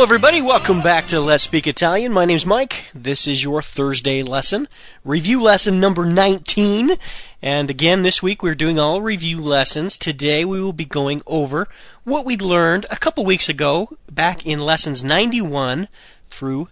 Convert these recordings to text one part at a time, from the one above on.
Hello everybody, welcome back to Let's Speak Italian. My name's Mike. This is your Thursday lesson, review lesson number 19. And again, this week we're doing all review lessons. Today we will be going over what we learned a couple weeks ago back in lessons 91 through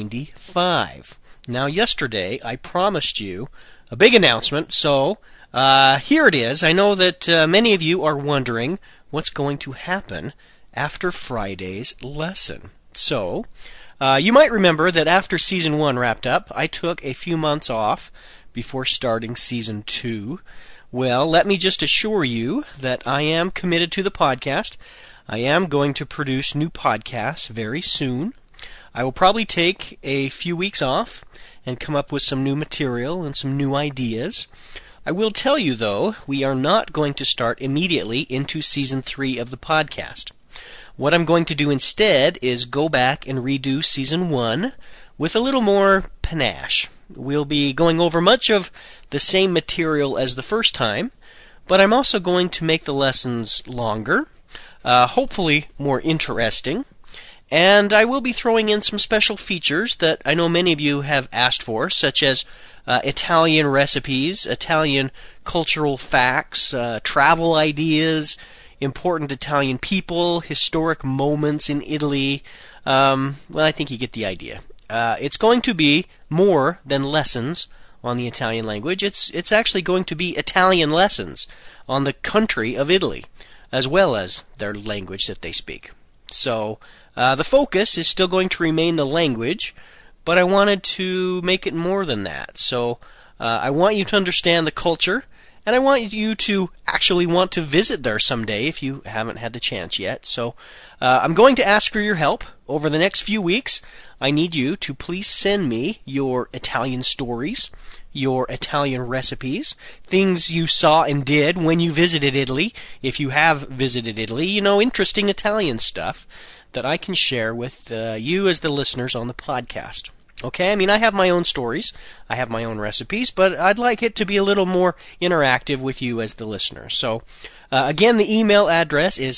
95. Now yesterday I promised you a big announcement, so here it is. I know that many of you are wondering what's going to happen after Friday's lesson. So, you might remember that after Season 1 wrapped up, I took a few months off before starting Season 2. Well, let me just assure you that I am committed to the podcast. I am going to produce new podcasts very soon. I will probably take a few weeks off and come up with some new material and some new ideas. I will tell you, though, we are not going to start immediately into Season 3 of the podcast. What I'm going to do instead is go back and redo Season 1 with a little more panache. We'll be going over much of the same material as the first time, but I'm also going to make the lessons longer, hopefully more interesting, and I will be throwing in some special features that I know many of you have asked for, such as Italian recipes, Italian cultural facts, travel ideas, important Italian people, historic moments in Italy. Well, I think you get the idea. It's going to be more than lessons on the Italian language. It's actually going to be Italian lessons on the country of Italy, as well as their language that they speak. So, the focus is still going to remain the language, but I wanted to make it more than that. So, I want you to understand the culture, and I want you to actually want to visit there someday if you haven't had the chance yet. So I'm going to ask for your help over the next few weeks. I need you to please send me your Italian stories, your Italian recipes, things you saw and did when you visited Italy, if you have visited Italy, interesting Italian stuff that I can share with you as the listeners on the podcast. Okay, I have my own stories, I have my own recipes, but I'd like it to be a little more interactive with you as the listener. So, again, the email address is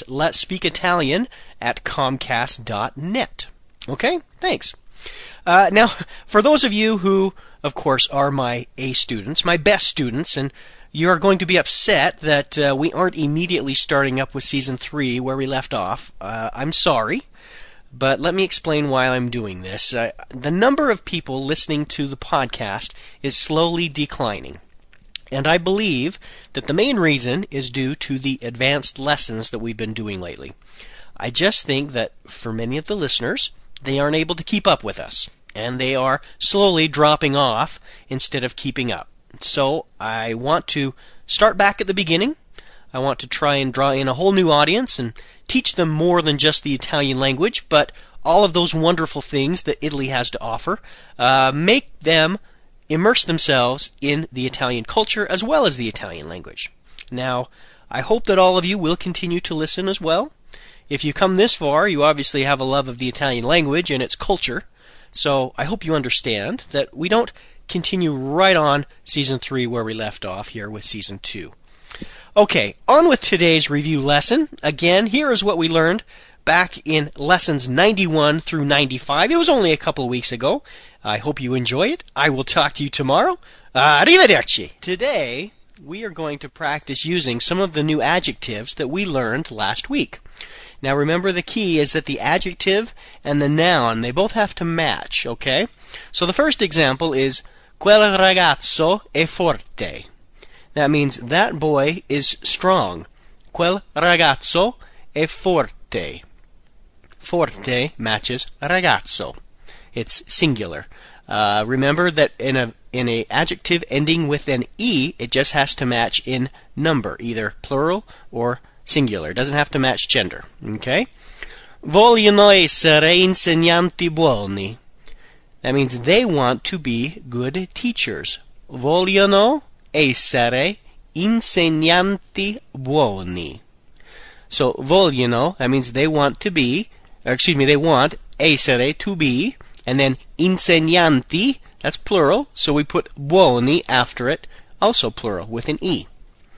letspeakitalian@comcast.net. Okay, thanks. Now, for those of you who, of course, are my A students, my best students, and you are going to be upset that we aren't immediately starting up with Season 3 where we left off, I'm sorry. But let me explain why I'm doing this. The number of people listening to the podcast is slowly declining. And I believe that the main reason is due to the advanced lessons that we've been doing lately. I just think that for many of the listeners, they aren't able to keep up with us. And they are slowly dropping off instead of keeping up. So I want to start back at the beginning. I want to try and draw in a whole new audience and teach them more than just the Italian language, but all of those wonderful things that Italy has to offer. Make them immerse themselves in the Italian culture as well as the Italian language. Now, I hope that all of you will continue to listen as well. If you come this far, you obviously have a love of the Italian language and its culture, so I hope you understand that we don't continue right on Season 3 where we left off here with Season 2. Okay, on with today's review lesson. Again, here is what we learned back in lessons 91 through 95. It was only a couple of weeks ago. I hope you enjoy it. I will talk to you tomorrow. Arrivederci! Today, we are going to practice using some of the new adjectives that we learned last week. Now remember, the key is that the adjective and the noun, they both have to match, okay? So the first example is quel ragazzo è forte. That means that boy is strong. Quel ragazzo è forte. Forte matches ragazzo. It's singular. Remember that in a adjective ending with an E, it just has to match in number, either plural or singular. It doesn't have to match gender. Okay? Vogliono essere insegnanti buoni. That means they want to be good teachers. Vogliono essere insegnanti buoni. So, vogliono, that means they want to be, they want essere, to be, and then insegnanti, that's plural, so we put buoni after it, also plural, with an E.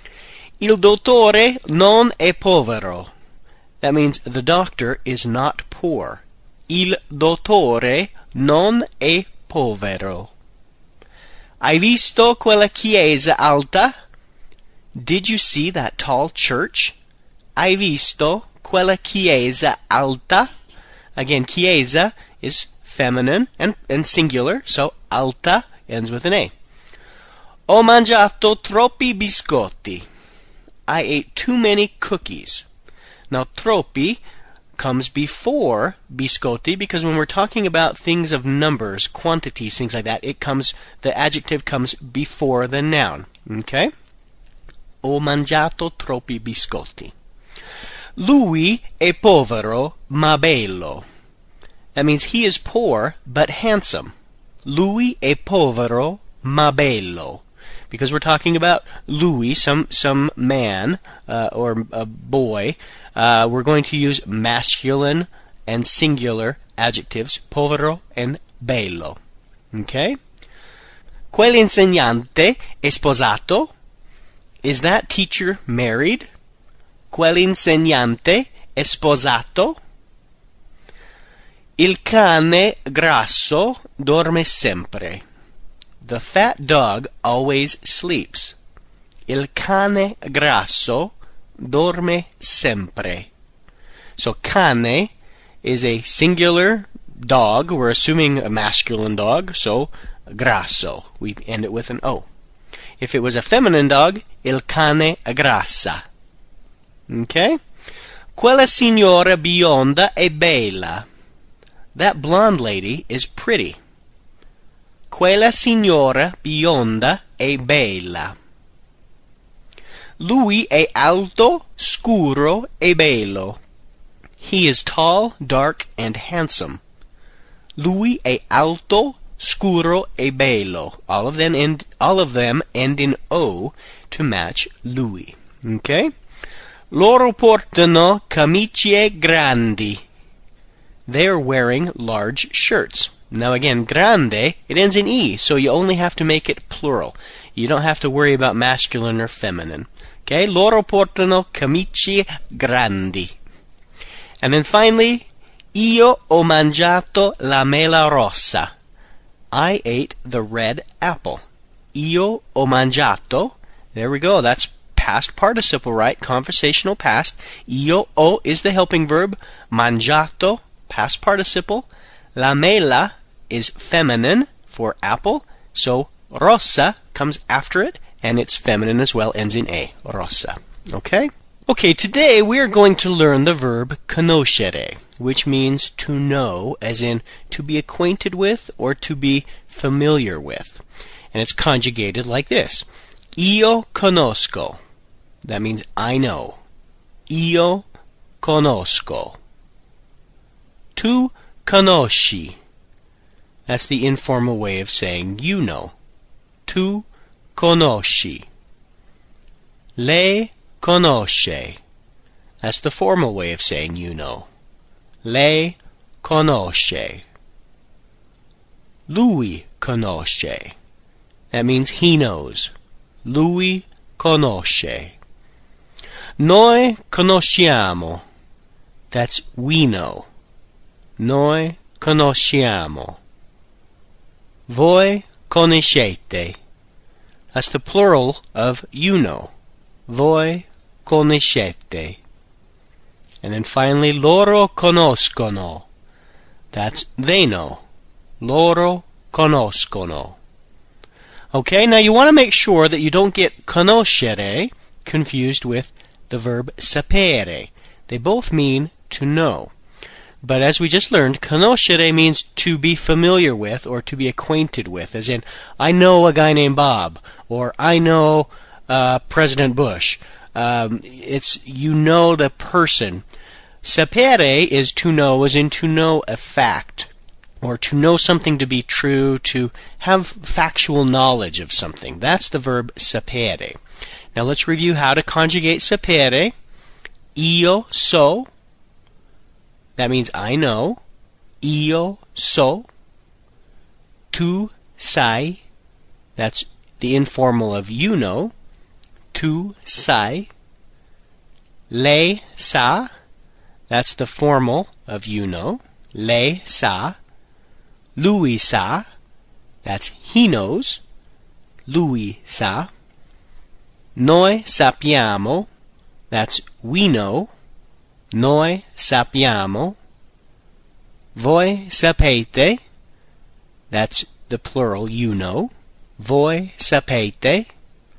Il dottore non è povero. That means the doctor is not poor. Il dottore non è povero. Hai visto quella chiesa alta? Did you see that tall church? Hai visto quella chiesa alta? Again, chiesa is feminine and singular, so alta ends with an A. Ho mangiato troppi biscotti. I ate too many cookies. Now, troppi comes before biscotti because when we're talking about things of numbers, quantities, things like that, the adjective comes before the noun. Okay? Ho mangiato troppi biscotti. Lui è povero ma bello. That means he is poor but handsome. Lui è povero ma bello. Because we're talking about lui, some man or a boy, we're going to use masculine and singular adjectives, povero and bello. Okay? Quell'insegnante è sposato. Is that teacher married? Quell'insegnante è sposato. Il cane grasso dorme sempre. The fat dog always sleeps. Il cane grasso dorme sempre. So cane is a singular dog. We're assuming a masculine dog, so grasso. We end it with an O. If it was a feminine dog, il cane grassa. Okay? Quella signora bionda è bella. That blonde lady is pretty. Quella signora bionda è bella. Lui è alto, scuro e bello. He is tall, dark, and handsome. Lui è alto, scuro e bello. All of them end in O to match lui. Okay? Loro portano camicie grandi. They are wearing large shirts. Now again, grande, it ends in E, so you only have to make it plural. You don't have to worry about masculine or feminine. Okay? Loro portano camicie grandi. And then finally, io ho mangiato la mela rossa. I ate the red apple. Io ho mangiato. There we go. That's past participle, right? Conversational past. Io ho is the helping verb. Mangiato, past participle. La mela is feminine for apple, so rossa comes after it, and it's feminine as well, ends in A, rossa. Okay? Okay, today we are going to learn the verb conoscere, which means to know, as in to be acquainted with or to be familiar with. And it's conjugated like this. Io conosco. That means I know. Io conosco. Tu conosci. That's the informal way of saying you know. Tu conosci. Lei conosce. That's the formal way of saying you know. Lei conosce. Lui conosce. That means he knows. Lui conosce. Noi conosciamo. That's we know. Noi conosciamo. Voi conoscete. That's the plural of you know. Voi conoscete. And then finally, loro conoscono. That's they know. Loro conoscono. Okay, now you want to make sure that you don't get conoscere confused with the verb sapere. They both mean to know. But as we just learned, conoscere means to be familiar with or to be acquainted with, as in, I know a guy named Bob, or I know President Bush. It's you know the person. Sapere is to know, as in to know a fact, or to know something to be true, to have factual knowledge of something. That's the verb sapere. Now let's review how to conjugate sapere. Io so. That means I know. Io so. Tu sai. That's the informal of you know. Tu sai. Lei sa. That's the formal of you know. lei sa, lui sa, that's he knows, lui sa. Noi sappiamo, that's we know, noi sappiamo. Voi sapete, that's the plural, you know, voi sapete.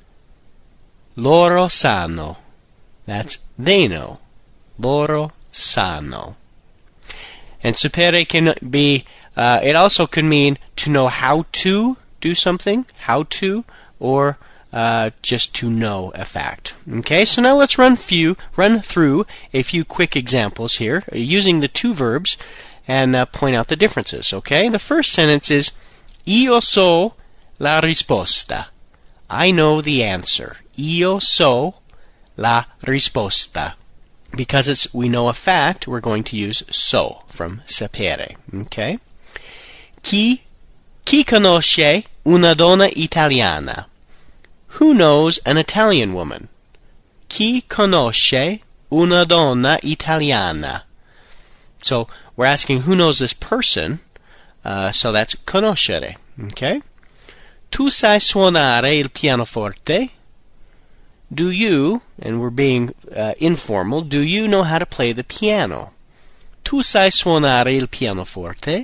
Loro sanno, that's they know, loro sanno. And sapere can be, it also can mean to know how to do something, how to, or just to know a fact. Okay, so now let's run through a few quick examples here using the two verbs and point out the differences. Okay, the first sentence is Io so la risposta. I know the answer. Io so la risposta. Because we know a fact, we're going to use so from sapere. Okay? Chi conosce una donna italiana? Who knows an Italian woman? Chi conosce una donna italiana? So we're asking who knows this person, so that's conoscere. Okay? Tu sai suonare il pianoforte? Do you, and we're being informal, do you know how to play the piano? Tu sai suonare il pianoforte?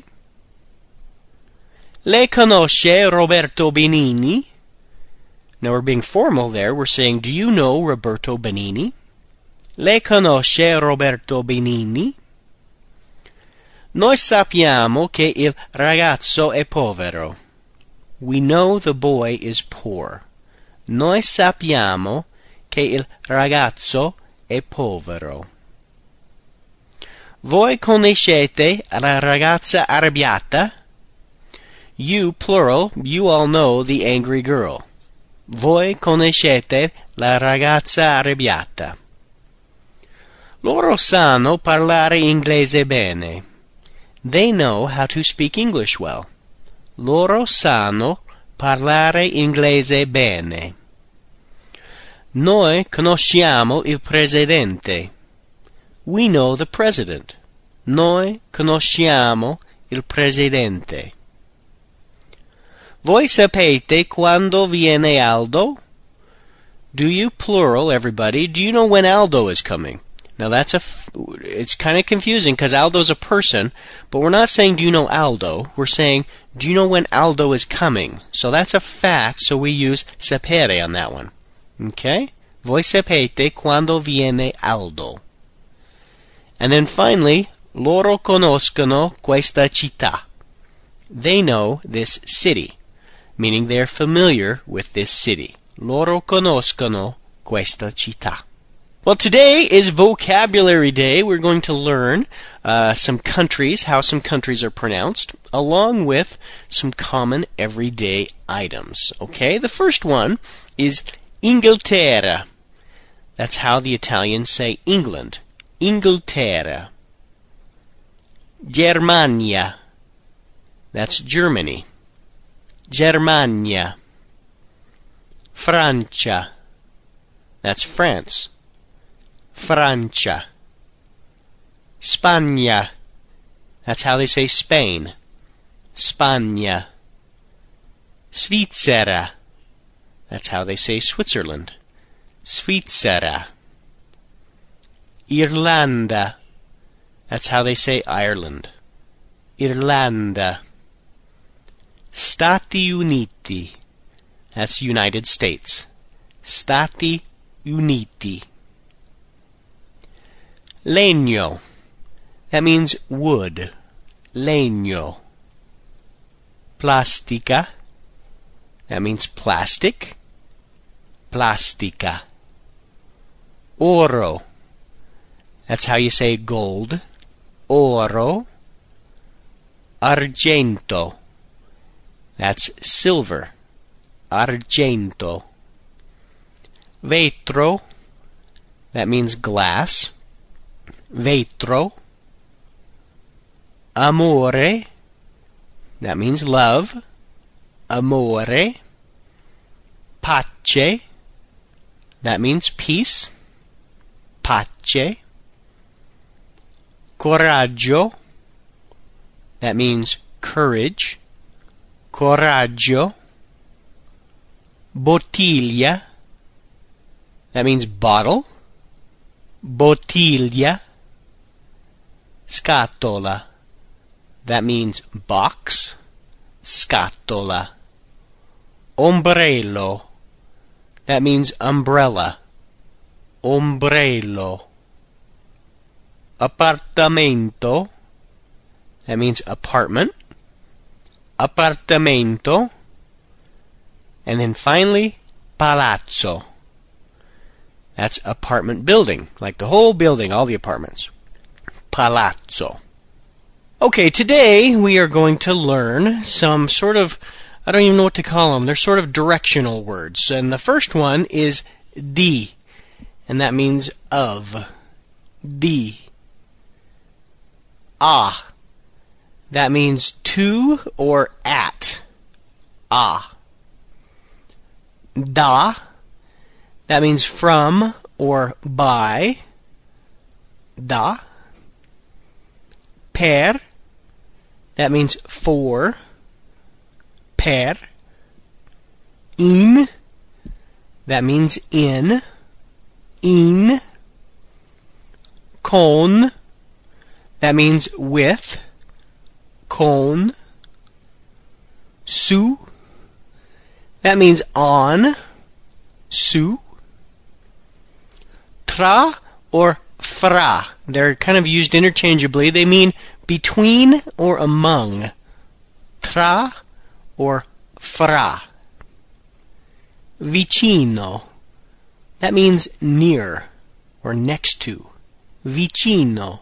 Lei conosce Roberto Benigni? Now we're being formal there. We're saying, do you know Roberto Benigni? Lei conosce Roberto Benigni? Noi sappiamo che il ragazzo è povero. We know the boy is poor. Noi sappiamo che il ragazzo è povero. Voi conoscete la ragazza arrabbiata? You, plural, you all know the angry girl. Voi conoscete la ragazza arrabbiata. Loro sanno parlare inglese bene. They know how to speak English well. Loro sanno parlare inglese bene. Noi conosciamo il presidente. We know the president. Noi conosciamo il presidente. Voi sapete quando viene Aldo? Do you, plural, everybody, do you know when Aldo is coming? Now it's kind of confusing because Aldo's a person, but we're not saying do you know Aldo, we're saying do you know when Aldo is coming? So that's a fact, so we use sapere on that one. Okay? Voi sapete quando viene Aldo. And then finally, loro conoscono questa città. They know this city, meaning they're familiar with this city. Loro conoscono questa città. Well, today is Vocabulary Day. We're going to learn some countries, how some countries are pronounced, along with some common everyday items. Okay, the first one is Inghilterra. That's how the Italians say England. Inghilterra. Germania. That's Germany. Germania. Francia. That's France. Francia. Spagna. That's how they say Spain. Spagna. Svizzera. That's how they say Switzerland. Svizzera. Irlanda. That's how they say Ireland. Irlanda. Stati Uniti. That's United States. Stati Uniti. Legno. That means wood. Legno. Plastica. That means plastic. Plastica. Oro. That's how you say gold. Oro. Argento. That's silver. Argento. Vetro. That means glass. Vetro. Amore. That means love. Amore. Pace. That means peace. Pace. Coraggio. That means courage. Coraggio. Bottiglia. That means bottle. Bottiglia. Scatola. That means box. Scatola. Ombrello. That means umbrella. Ombrello. Appartamento. That means apartment. Appartamento. And then finally, palazzo. That's apartment building, like the whole building, all the apartments. Palazzo. Okay, today we are going to learn some sort of, I don't even know what to call them, they're sort of directional words. And the first one is di, and that means of. Di. Ah. That means to or at. Ah. Da. That means from or by. Da. Per. That means for. Per. In. That means in. In. Con. That means with. Con. Su. That means on. Su. Tra or fra. They're kind of used interchangeably. They mean between or among. Tra or fra. Vicino. That means near or next to. Vicino.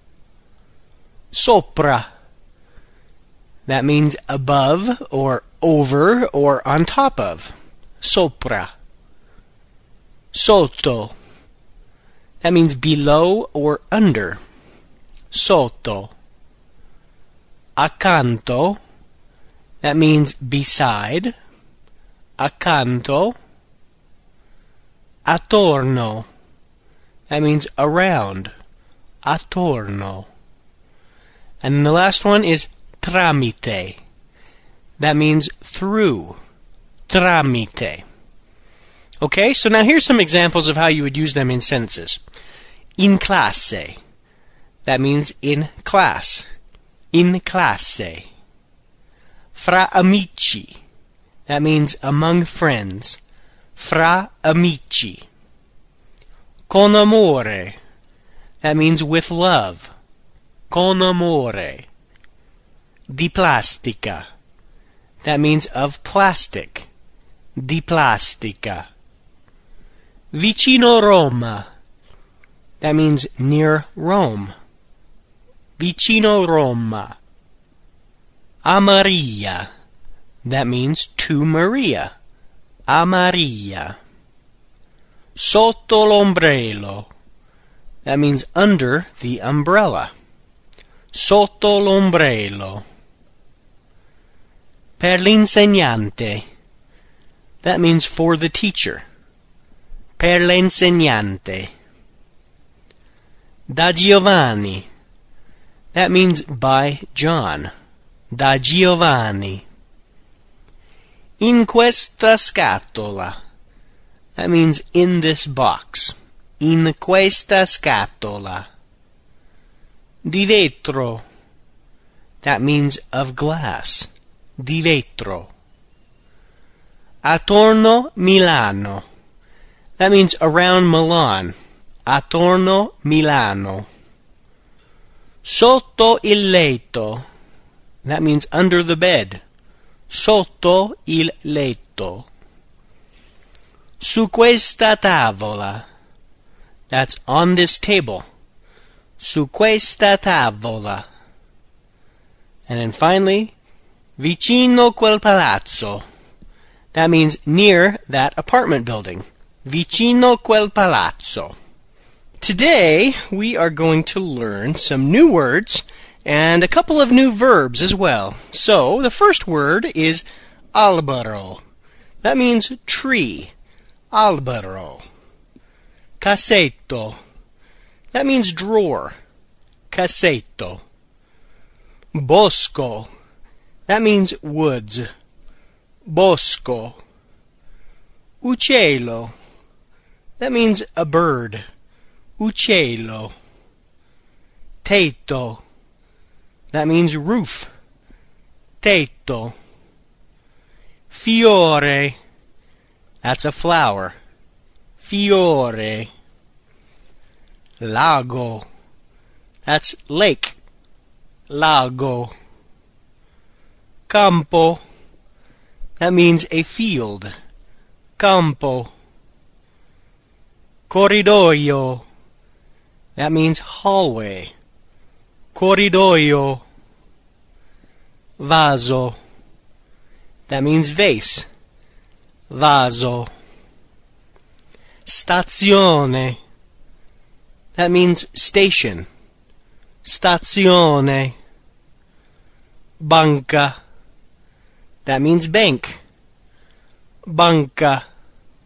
Sopra. That means above or over or on top of. Sopra. Sotto. That means below or under. Sotto. Accanto. That means beside. Accanto. Attorno. That means around. Attorno. And the last one is tramite. That means through. Tramite. Okay, so now here's some examples of how you would use them in sentences. In classe. That means in class. In classe. Fra amici. That means among friends. Fra amici. Con amore. That means with love. Con amore. Di plastica. That means of plastic. Di plastica. Vicino Roma. That means near Rome. Vicino Roma. A Maria. That means to Maria. A Maria. Sotto l'ombrello. That means under the umbrella. Sotto l'ombrello. Per l'insegnante. That means for the teacher. Per l'insegnante. Da Giovanni. That means by John. Da Giovanni. In questa scatola. That means in this box. In questa scatola. Di vetro. That means of glass. Di vetro. Attorno Milano. That means around Milan. Attorno Milano. Sotto il letto. That means under the bed. Sotto il letto. Su questa tavola. That's on this table. Su questa tavola. And then finally, vicino quel palazzo. That means near that apartment building. Vicino quel palazzo. Today, we are going to learn some new words and a couple of new verbs as well. So, the first word is albero. That means tree. Albero. Cassetto. That means drawer. Cassetto. Bosco. That means woods. Bosco. Uccello. That means a bird. Uccello. Tetto. That means roof. Tetto. Fiore. That's a flower. Fiore. Lago. That's lake. Lago. Campo. That means a field. Campo. Corridoio. That means hallway. Corridoio. Vaso. That means vase. Vaso. Stazione. That means station. Stazione. Banca. That means bank. Banca.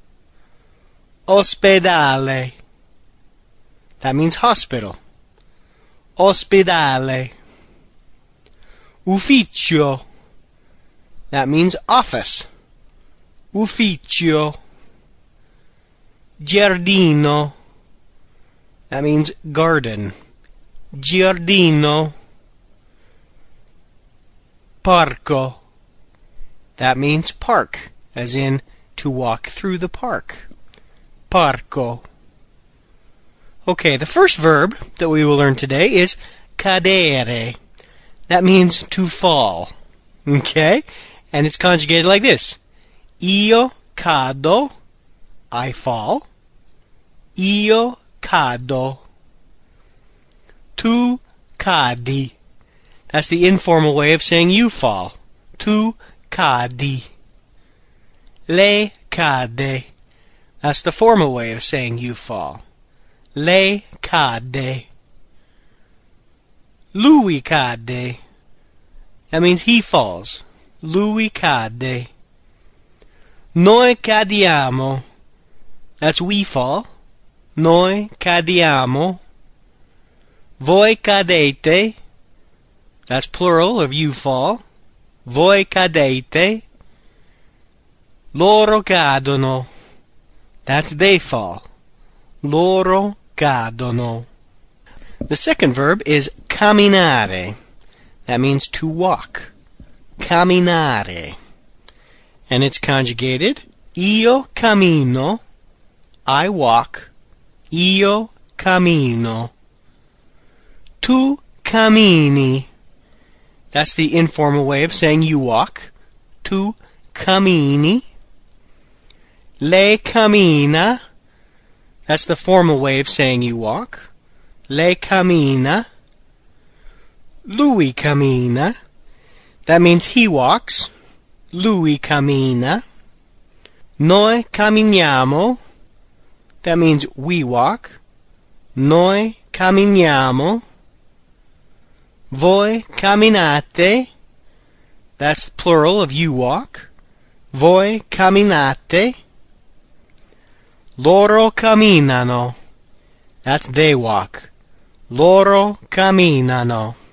Ospedale. That means hospital. Ospedale. Ufficio. That means office. Ufficio. Giardino. That means garden. Giardino. Parco. That means park, as in to walk through the park. Parco. Okay, the first verb that we will learn today is cadere. That means to fall. Okay? And it's conjugated like this. Io cado. I fall. Io cado. Tu cadi. That's the informal way of saying you fall. Tu cadi. Lei cade. That's the formal way of saying you fall. Lei cade. Lui cade. That means he falls. Lui cade. Noi cadiamo. That's we fall. Noi cadiamo. Voi cadete. That's plural of you fall. Voi cadete. Loro cadono. That's they fall. Loro cadono. The second verb is camminare. That means to walk. Camminare. And it's conjugated. Io cammino. I walk. Io cammino. Tu cammini. That's the informal way of saying you walk. Tu cammini. Lei cammina. That's the formal way of saying you walk. Lei cammina. Lui cammina. That means he walks. Lui cammina. Noi camminiamo. That means we walk. Noi camminiamo. Voi camminate. That's plural of you walk. Voi camminate. Loro camminano. That's they walk. Loro camminano.